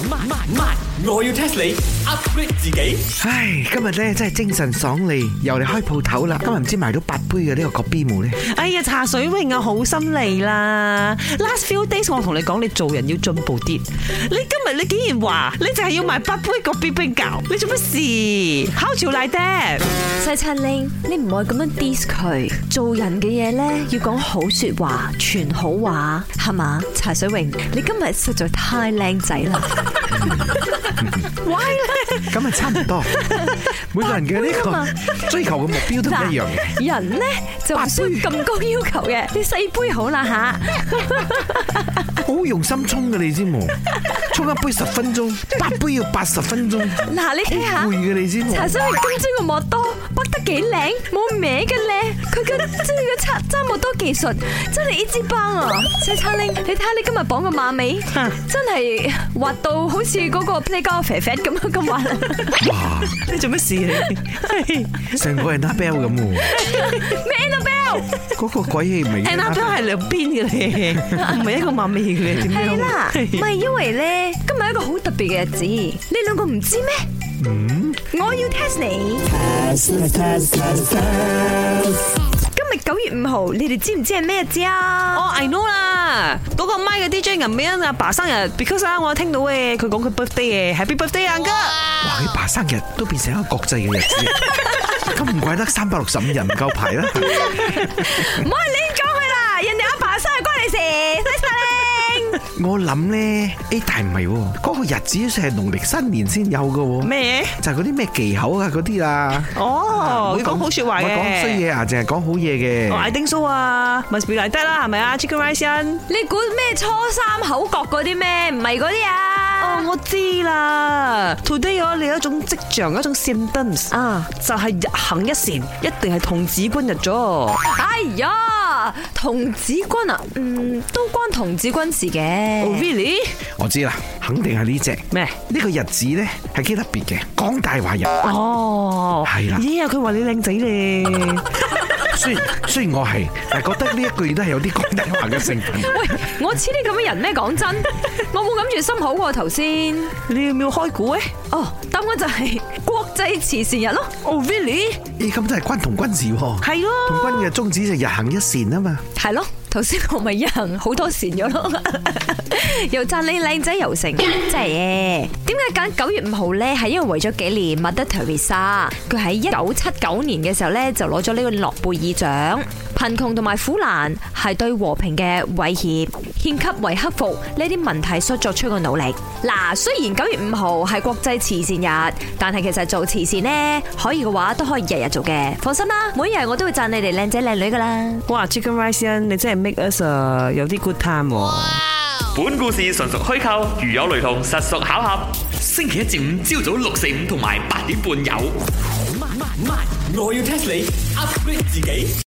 我要 test 你 upgrade 自己。 唉，今日咧真係精神爽利，又嚟開鋪頭啦。今日唔知賣到8杯嘅呢個國 B 冇咧。 哎呀，茶水榮啊，好心嚟啦 ！Last few days 我同你講，你做人要進步啲。你竟然話你就係要賣8杯國 B 冰餃，你做乜事？烤潮賴爹， 西餐拎，你唔可以咁樣 diss 佢。做人嘅嘢咧，要講好說話，傳好話，係嘛？茶水榮，你今日實在太靚仔啦！ 喂咧， 咁啊差唔多，每個人嘅呢個追求嘅目標都唔一樣嘅。 人咧就唔需要咁高要求嘅，你細杯好啦吓。 好用心沖嘅你知冇？沖一杯10分鐘，8杯要80分鐘。 嗱，你睇下， 攰嘅你知冇？ 茶水榮金樽個莫多，剝得幾靚，冇歪嘅咧。佢嘅即係個插揸莫多技術，真係一支棒啊！西餐拎，你睇下你今日綁個馬尾，真係滑到好似嗰個 playground 肥肥咁樣咁滑。 哇！ 你做乜事啊？ 成個係 Annabelle 咁喎。 咩 Annabelle？ 嗰個鬼戲唔係 Annabelle 係兩邊嘅咧，唔係一個馬尾嘅，點樣？ 係啦，唔係因為咧，今日一個好特別嘅日子，你兩個唔知咩？我要 test 你。今日9月5號，你哋知唔知係咩日子啊？ 哦 I know 啦，嗰個麥嘅 DJ 銀美欣阿爸生日 ，because 啊，我聽到嘅，佢講佢 birthday 嘅 ，Happy birthday 阿哥。 哇！佢爸生日都變成一個國際嘅日子，咁唔怪得365日唔夠排啦。 唔好亂講佢啦，人哋阿爸生日關你事，西餐拎。 我諗咧，但係唔係喎，嗰個日子係農曆新年先有嘅喎。 咩？ 就係嗰啲咩忌口啊嗰啲啦。 哦，會講好說話嘅。 唔係講衰嘢啊，淨係講好嘢嘅。 I think so 啊 ，must be like that 啦，係咪啊 ？Chicken rice 你估咩初三口角嗰啲咩？唔係嗰啲啊？ 哦，我知啦。Today 有你一種跡象，一種 symptoms 啊，就係日行一善，一定係童子軍日咗。 哎呀，童子軍啊，都關童子軍事嘅。 Oh really？ 我知啦，肯定係呢隻咩？ 呢個日子咧係幾特別嘅，講大話日。 哦， 係啦。 咦啊，佢話你靚仔咧。 雖然我係，但係覺得呢一句都係有啲講大話嘅成分。 喂，我似啲咁嘅人咩？講真，我冇諗住心口喎頭先。 你要唔要開估咧？ 哦，答案就係國際慈善日咯。 Oh really？ 咁都係關童軍事喎。 係咯。 童軍嘅宗旨就日行一善啊嘛。 係咯。頭先我咪日行好多善咗咯，又讚你靚仔又成，真係嘅。點解揀9月5號咧？係因為為咗紀念 Mother Teresa，佢喺1979年嘅時候咧就攞咗呢個諾貝爾獎。貧窮同埋苦難係對和平嘅威脅，獻給為克服呢啲問題所作出嘅努力。嗱，雖然9月5號係國際慈善日，但係其實做慈善呢，可以嘅話都可以日日做嘅。放心啦，每日我都會讚你哋靚仔靚女噶啦。 哇 ，Chicken Rice 你真係 make us 有啲 good time。 本故事純屬虛構，如有雷同，實屬巧合。星期一至五朝早6、4、5同埋8點半有。我要 test 你 upgrade 自己。